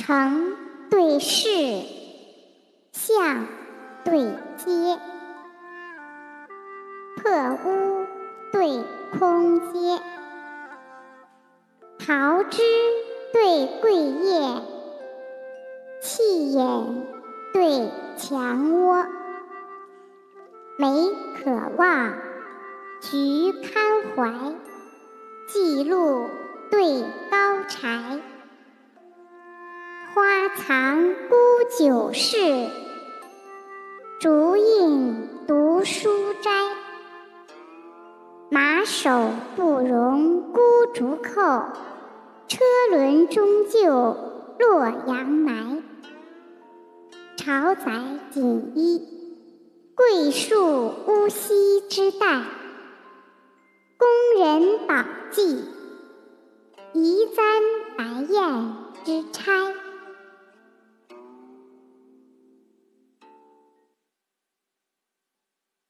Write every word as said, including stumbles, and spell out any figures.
城对市，巷对街，破屋对空阶，桃枝对桂叶，气眼对墙窝，梅可望，菊堪怀，记录对高柴，花藏孤酒室，竹印读书斋，马首不容孤竹扣，车轮终究洛阳埋。朝载锦衣，桂树乌溪之带，宫人宝髻，移簪白燕之钗。